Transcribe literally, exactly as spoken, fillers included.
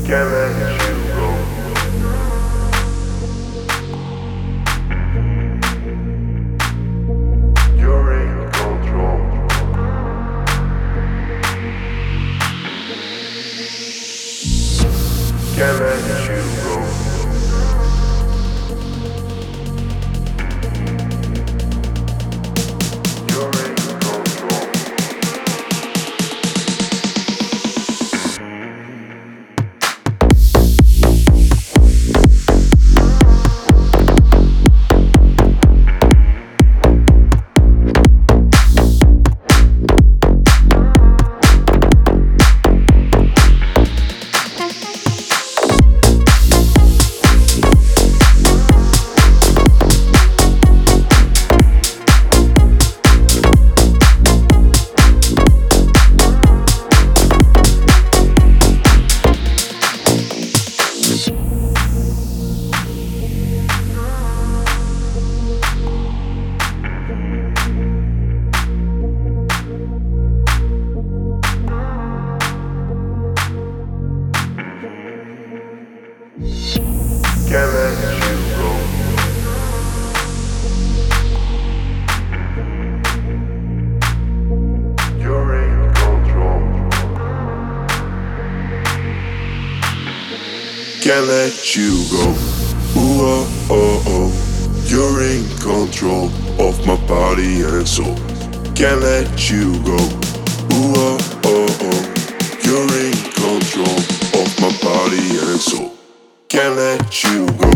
Can't let you go. You're in control. Can't let you go. You're in control. Can't let you go. You're in control. Can't let you go. Ooh, oh, oh, oh. You're in control of my body and soul. Can't let you go. Ooh, oh, oh, oh. You're in control of my body and soul. Can't let you go.